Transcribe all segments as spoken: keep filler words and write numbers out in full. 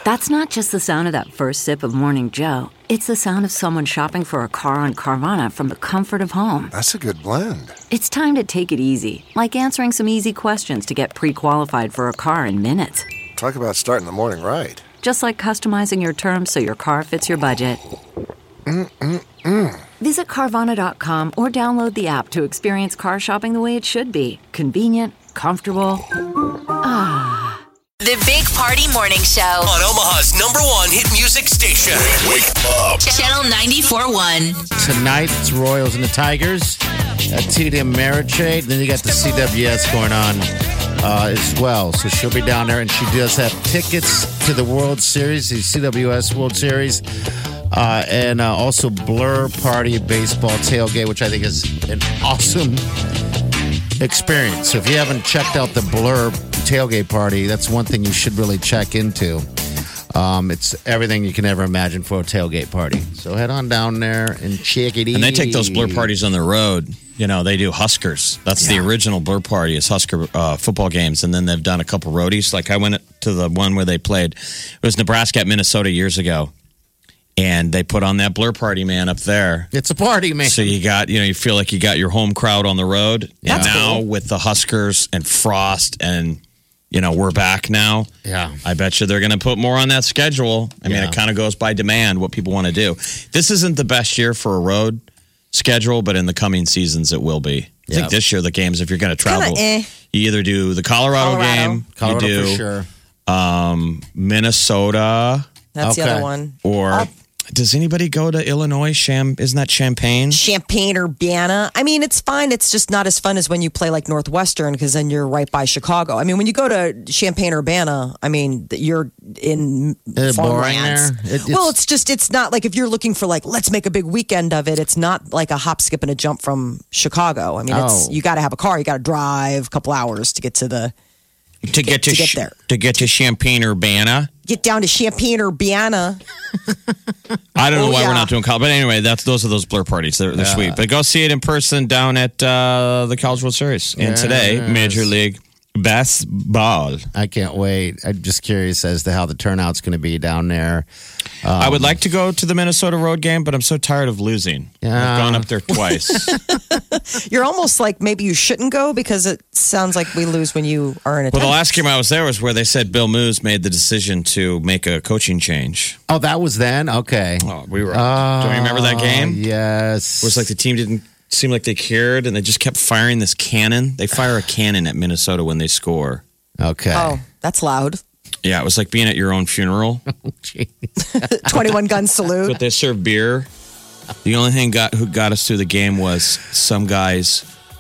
That's not just the sound of that first sip of Morning Joe. It's the sound of someone shopping for a car on Carvana from the comfort of home. That's a good blend. It's time to take it easy, like answering some easy questions to get pre-qualified for a car in minutes. Talk about starting the morning right. Just like customizing your terms so your car fits your budget. Mm-mm-mm. Visit Carvana dot com or download the app to experience car shopping the way it should be. Convenient, comfortable. Ah. The Big Party Morning Show on Omaha's number one hit music station. Wake up. Channel ninety-four point one. Tonight, it's Royals and the Tigers at T D M Ameritrade. Then you got the C W S going on uh, as well. So she'll be down there, and she does have tickets to the World Series, the C W S World Series, uh, and uh, also Blur Party Baseball Tailgate, which I think is an awesome experience. So if you haven't checked out the Blur Tailgate Party, that's one thing you should really check into. Um, it's everything you can ever imagine for a tailgate party. So head on down there and check it out. And they take those Blur parties on the road. You know, they do Huskers. That's yeah. the original Blur Party is Husker uh, football games. And then they've done a couple roadies. Like I went to the one where they played. It was Nebraska at Minnesota years ago. And they put on that Blur Party, man, up there. It's a party, man. So you got, you know, you feel like you got your home crowd on the road. Yeah. And now cool. with the Huskers and Frost and, you know, we're back now. Yeah. I bet you they're going to put more on that schedule. I mean, Yeah. it kind of goes by demand, what people want to do. This isn't the best year for a road schedule, but in the coming seasons, it will be. I Yep. think this year, the games, if you're going to travel, eh. you either do the Colorado, Colorado. game, Colorado you do for sure. um, Minnesota, That's the Okay. other one. or Oh. does anybody go to Illinois? Sham, isn't that Champaign? Champaign, Urbana. I mean, it's fine. It's just not as fun as when you play like Northwestern because then you're right by Chicago. I mean, when you go to Champaign, Urbana, I mean, you're in Is it boring farmlands. there? It- well, it's- it's just, it's not like if you're looking for like, let's make a big weekend of it. It's not like a hop, skip, and a jump from Chicago. I mean, it's Oh. you got to have a car. You got to drive a couple hours to get to the, to get to, to get Sh- there. to get to Champaign Urbana. get down to Champaign, Urbana. I don't know Oh, why yeah. we're not doing college, but anyway, that's those are those Blur parties. They're, they're Yeah. sweet. But go see it in person down at uh, the College World Series. And today, Yes. Major League Baseball. I can't wait. I'm just curious as to how the turnout's going to be down there. I would like to go to the Minnesota road game, but I'm so tired of losing. Yeah. I've gone up there twice. You're almost like maybe you shouldn't go because it sounds like we lose when you are in a Well, the last game I was there was where they said Bill Moose made the decision to make a coaching change. Oh, that was then? Okay. Oh, we were. do you remember that game? Yes. It was like the team didn't seem like they cared, and they just kept firing this cannon. They fire a cannon at Minnesota when they score. Okay. Oh, that's loud. Yeah, it was like being at your own funeral. twenty-one gun salute. But they served beer. The only thing got who got us through the game was some guy's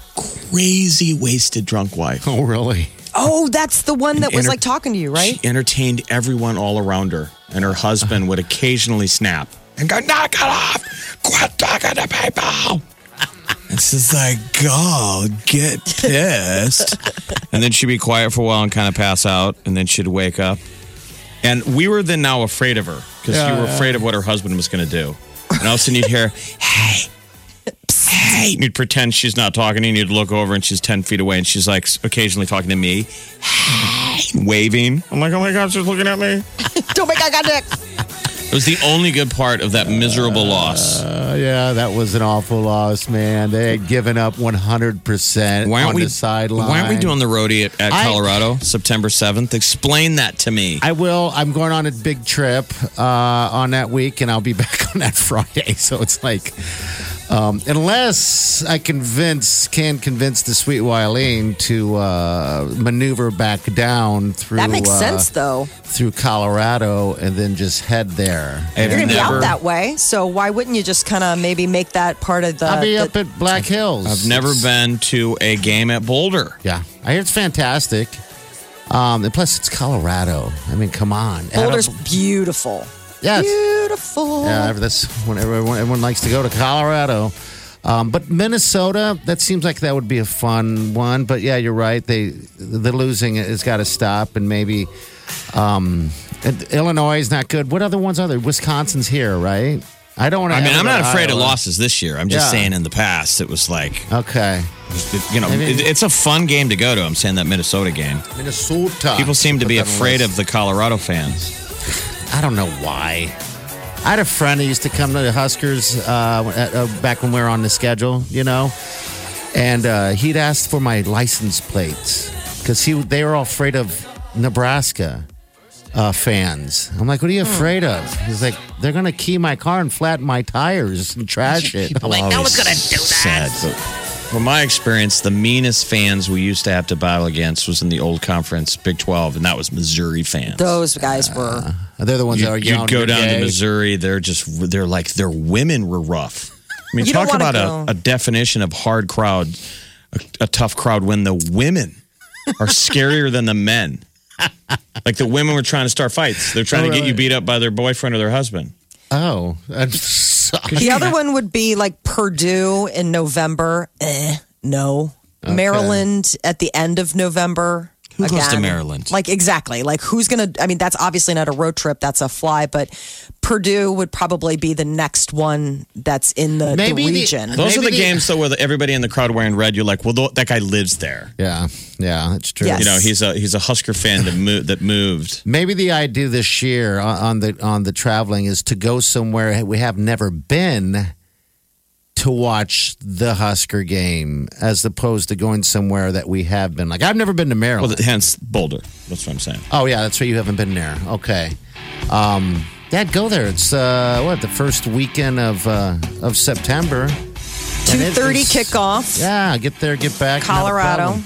crazy wasted drunk wife. Oh, really? Oh, that's the one that was Enter- like talking to you, right? She entertained everyone all around her, and her husband would occasionally snap and go, "Knock it off! Quit talking to people!" And she's like, "God, get pissed." And then she'd be quiet for a while and kind of pass out, and then she'd wake up. And we were then now afraid of her because Yeah, you were yeah. afraid of what her husband was going to do. And all of a sudden you'd hear, "Hey, hey," and you'd pretend she's not talking, and you'd look over, and she's ten feet away, and she's like occasionally talking to me, "Hey," waving. I'm like, "Oh my God, she's looking at me." Don't make eye contact. It was the only good part of that miserable loss. Uh, yeah, that was an awful loss, man. They had given up one hundred percent Why aren't on we the sideline. Why aren't we doing the roadie at, at I- Colorado, September seventh? Explain that to me. I will. I'm going on a big trip uh, on that week, and I'll be back on that Friday. So it's like, um, unless I convince, can convince the sweet Wileen to uh, maneuver back down through That makes uh, sense, though. through Colorado, and then just head there. I've You're going to be never- out that way, so why wouldn't you just kind of maybe make that part of the... I'll be the- up at Black Hills. I've never It's- been to a game at Boulder. Yeah, I hear it's fantastic. Um, and plus, it's Colorado. I mean, come on. Boulder's Adam- beautiful. Yes. Beautiful. Yeah, that's when everyone, everyone likes to go to Colorado. Um, but Minnesota, that seems like that would be a fun one. But yeah, you're right. They the losing has got to stop, and maybe um, and Illinois is not good. What other ones are there? Wisconsin's here, right? I don't want to. I mean, I'm not afraid of Iowa. losses this year. I'm just Yeah. saying in the past, it was like, Okay, it- you know, Maybe- it, it's a fun game to go to. I'm saying that Minnesota game. Minnesota. People seem to Put be that on the afraid list. of the Colorado fans. I don't know why. I had a friend who used to come to the Huskers uh, at, uh, back when we were on the schedule, you know, and uh, he'd asked for my license plates because he they were all afraid of Nebraska uh, fans. I'm like, what are you afraid of? He's like, they're going to key my car and flatten my tires and trash it. I'm like, no one's going to do that. Sad, but from my experience, the meanest fans we used to have to battle against was in the old conference, Big twelve, and that was Missouri fans. Those guys were. Uh, they're the ones you, that are you'd young. go and down gay. to Missouri, they're just, they're like, their women were rough. I mean, You don't talk wanna about go. a, a definition of hard crowd, a, a tough crowd when the women are scarier than the men. Like the women were trying to start fights. They're trying Oh, to get you really? beat up by their boyfriend or their husband. Oh, I'm sorry. The other one would be like Purdue in November. Eh, no. Maryland at the end of November. Who goes to Again. Maryland? Like, exactly. Like, who's going to, I mean, that's obviously not a road trip. That's a fly, but Purdue would probably be the next one that's in the, the Maybe the- region. Those are Maybe the the- games, though, where everybody in the crowd wearing red, you're like, well, th- that guy lives there. Yeah, yeah, that's true. Yes. You know, he's a he's a Husker fan that, mo- that moved. Maybe the idea this year on on the on the traveling is to go somewhere we have never been to watch the Husker game, as opposed to going somewhere that we have been. Like I've never been to Maryland. Well, hence Boulder. That's what I'm saying. Oh yeah, that's right. You haven't been there. Okay. Um, yeah, go there. It's uh, what the first weekend of uh, of September. two thirty it's- kickoff. Yeah, get there, get back. not a Colorado. problem.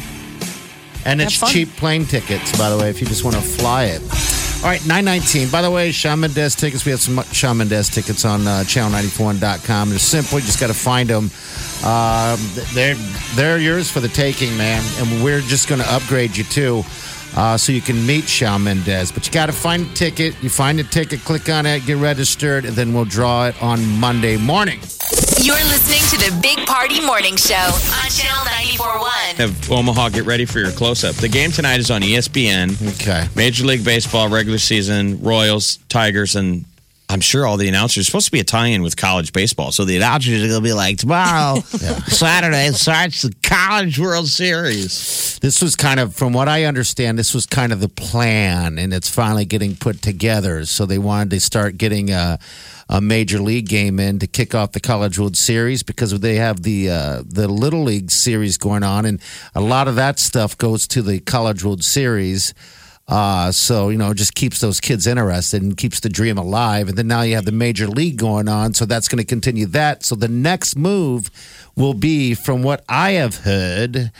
And it's Have fun. cheap plane tickets, by the way, if you just want to fly it. All right, nine nineteen. By the way, Shawn Mendes tickets. We have some Shawn Mendes tickets on uh, channel nine four one dot com. They're simple. You just got to find them. Um, they're, they're yours for the taking, man. And we're just going to upgrade you, too, uh, so you can meet Shawn Mendes. But you got to find a ticket. You find a ticket, click on it, get registered, and then we'll draw it on Monday morning. You're listening to the Big Party Morning Show on Channel ninety-four point one. Have Omaha, get ready for your close-up. The game tonight is on E S P N. Okay. Major League Baseball, regular season, Royals, Tigers, and I'm sure all the announcers. It's supposed to be a tie-in with college baseball. So the announcers are going to be like, tomorrow, Saturday, starts the College World Series. This was kind of, from what I understand, this was kind of the plan, and it's finally getting put together. So they wanted to start getting a, a major league game in to kick off the College World Series because they have the uh, the Little League Series going on, and a lot of that stuff goes to the College World Series. Uh, so, you know, it just keeps those kids interested and keeps the dream alive. And then now you have the major league going on. So that's going to continue that. So the next move will be, from what I have heard,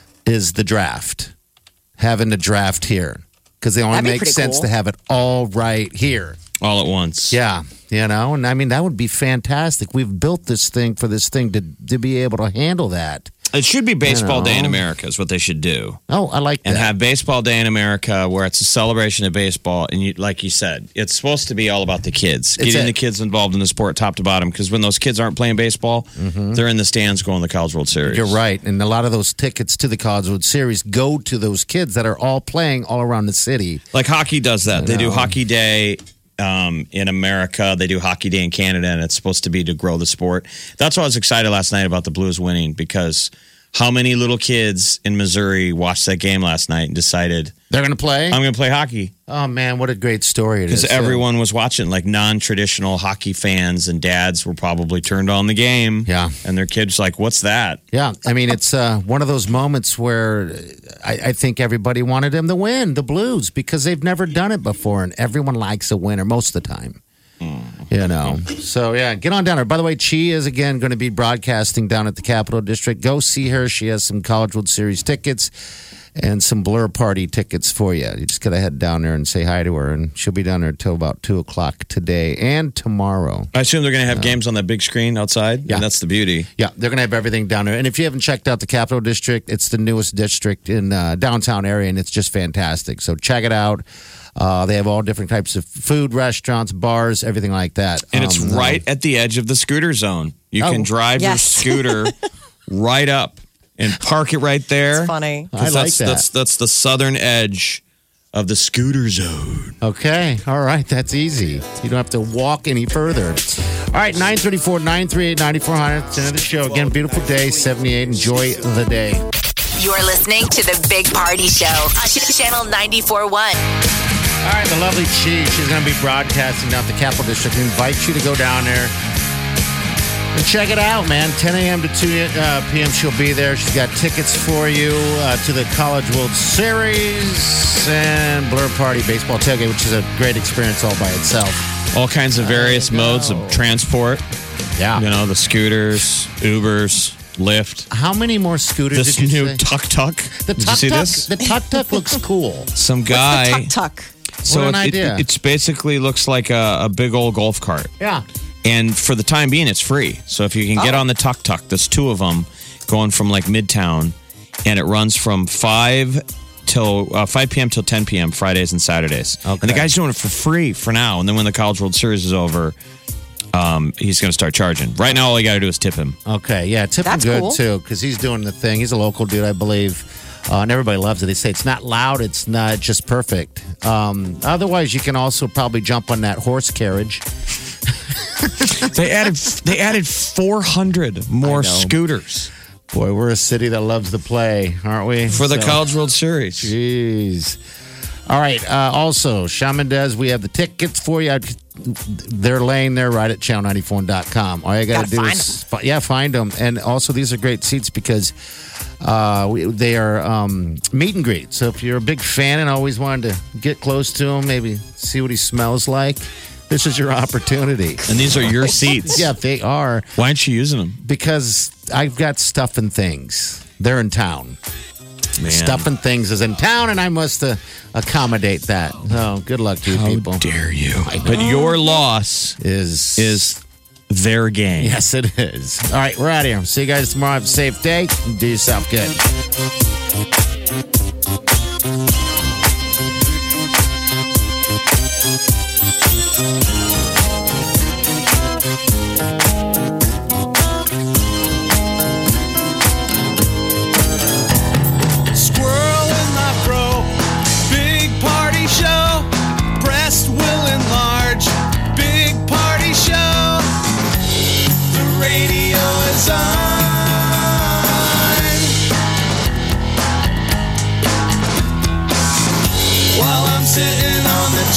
is the draft. Having the draft here. Because they only That'd be make pretty sense cool. to have it all right here. All at once. Yeah. You know, and I mean, that would be fantastic. We've built this thing for this thing to, to be able to handle that. It should be Baseball know. Day in America is what they should do. Oh, I like And that. have Baseball Day in America where it's a celebration of baseball. And you, like you said, it's supposed to be all about the kids, It's getting a- the kids involved in the sport top to bottom. Because when those kids aren't playing baseball, they're in the stands going to the College World Series. You're right. And a lot of those tickets to the College World Series go to those kids that are all playing all around the city. Like hockey does that. They do know. Hockey Day um, in America. They do Hockey Day in Canada, and it's supposed to be to grow the sport. That's why I was excited last night about the Blues winning, because how many little kids in Missouri watched that game last night and decided, They're going to play? I'm going to play hockey? Oh, man, what a great story it is. Because everyone was watching, like non-traditional hockey fans and dads were probably turned on the game. Yeah. And their kids like, what's that? Yeah, I mean, it's uh, one of those moments where I, I think everybody wanted them to win, the Blues, because they've never done it before, and everyone likes a winner most of the time. You know, so yeah, get on down there. By the way, Chi is again going to be broadcasting down at the Capital District. Go see her. She has some College World Series tickets and some Blur Party tickets for you. You just got to head down there and say hi to her, and she'll be down there till about two o'clock today and tomorrow. I assume they're going to have games on that big screen outside. Yeah. And that's the beauty. Yeah, they're going to have everything down there. And if you haven't checked out the Capital District, it's the newest district in uh, downtown area, and it's just fantastic. So check it out. Uh, they have all different types of food, restaurants, bars, everything like that. And it's Um, right at the edge of the scooter zone. You Oh, can drive yes. your scooter right up and park it right there. It's funny. 'Cause I like that's, that. That's, that's the southern edge of the scooter zone. Okay. All right. That's easy. You don't have to walk any further. All right. nine three four, nine three eight, nine four hundred. It's the end of the show. Again, beautiful day, seventy-eight. Enjoy the day. You're listening to the Big Party Show on Channel ninety-four point one. All right, the lovely Chi. She's going to be broadcasting down at the Capital District. We invite you to go down there and check it out, man. ten a.m. to two p.m. she'll be there. She's got tickets for you uh, to the College World Series and Blur Party Baseball Tailgate, which is a great experience all by itself. All kinds of various modes of transport. Yeah. You know, the scooters, Ubers, Lyft. How many more scooters This did you new say? tuk-tuk. The Did you tuk see tuk. this? The tuk tuk looks cool. Some What's guy. the tuck tuck? So What an it, idea. It, it's basically looks like a, a big old golf cart. Yeah. And for the time being, it's free. So if you can get Oh. on the tuk tuk, there's two of them going from like Midtown, and it runs from five till uh, five p.m. till ten p.m. Fridays and Saturdays. Okay. And the guy's doing it for free for now. And then when the College World Series is over, um, he's going to start charging. Right now, all you got to do is tip him. Okay, yeah, tip him That's good cool. too because he's doing the thing. He's a local dude, I believe, uh, and everybody loves it. They say it's not loud, it's not just perfect. Um, otherwise, you can also probably jump on that horse carriage. They added they added four hundred more scooters Boy, we're a city that loves to play, aren't we? for the So- College World Series. Jeez. All right. Uh, also, Shaman Des, we have the tickets for you. They're laying there right at channel ninety-four dot com. All you got to Gotta do find is, fi- yeah, find them. And also, these are great seats because uh, we, they are um, meet and greet. So if you're a big fan and always wanted to get close to him, maybe see what he smells like, this is your opportunity. And these are your seats. Yeah, they are. Why aren't you using them? Because I've got stuff and things. They're in town. Man. Stuff and things is in town, and I must uh, accommodate that. So good luck to you How people. dare you? But your loss Is is their game. yes, it is. All right, we're out of here. See you guys tomorrow. Have a safe day. Do yourself good. Squirrel in my fro. Big party show. Breast will enlarge. Big party show. The radio is on. While I'm sitting on the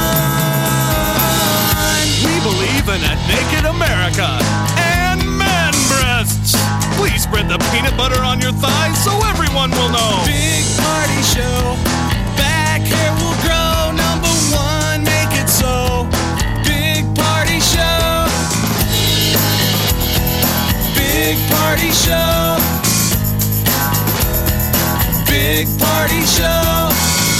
john. We believe in a naked America and man breasts. Please spread the peanut butter on your thighs so everyone will know. Big party show. Back hair will grow. Number one, make it so. Big party show. Big party show. Big party show.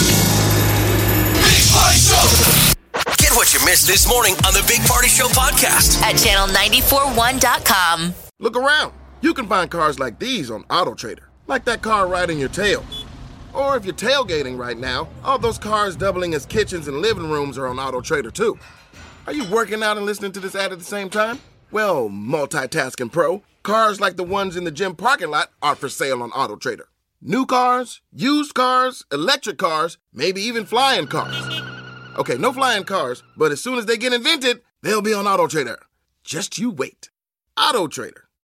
Big Party Show. Get what you missed this morning on the Big Party Show podcast. At channel nine four one dot com. Look around. You can find cars like these on AutoTrader, like that car right in your tail. Or if you're tailgating right now, all those cars doubling as kitchens and living rooms are on AutoTrader too. Are you working out and listening to this ad at the same time? Well, multitasking pro, cars like the ones in the gym parking lot are for sale on AutoTrader. New cars, used cars, electric cars, maybe even flying cars. Okay, no flying cars, but as soon as they get invented, they'll be on AutoTrader. Just you wait. AutoTrader.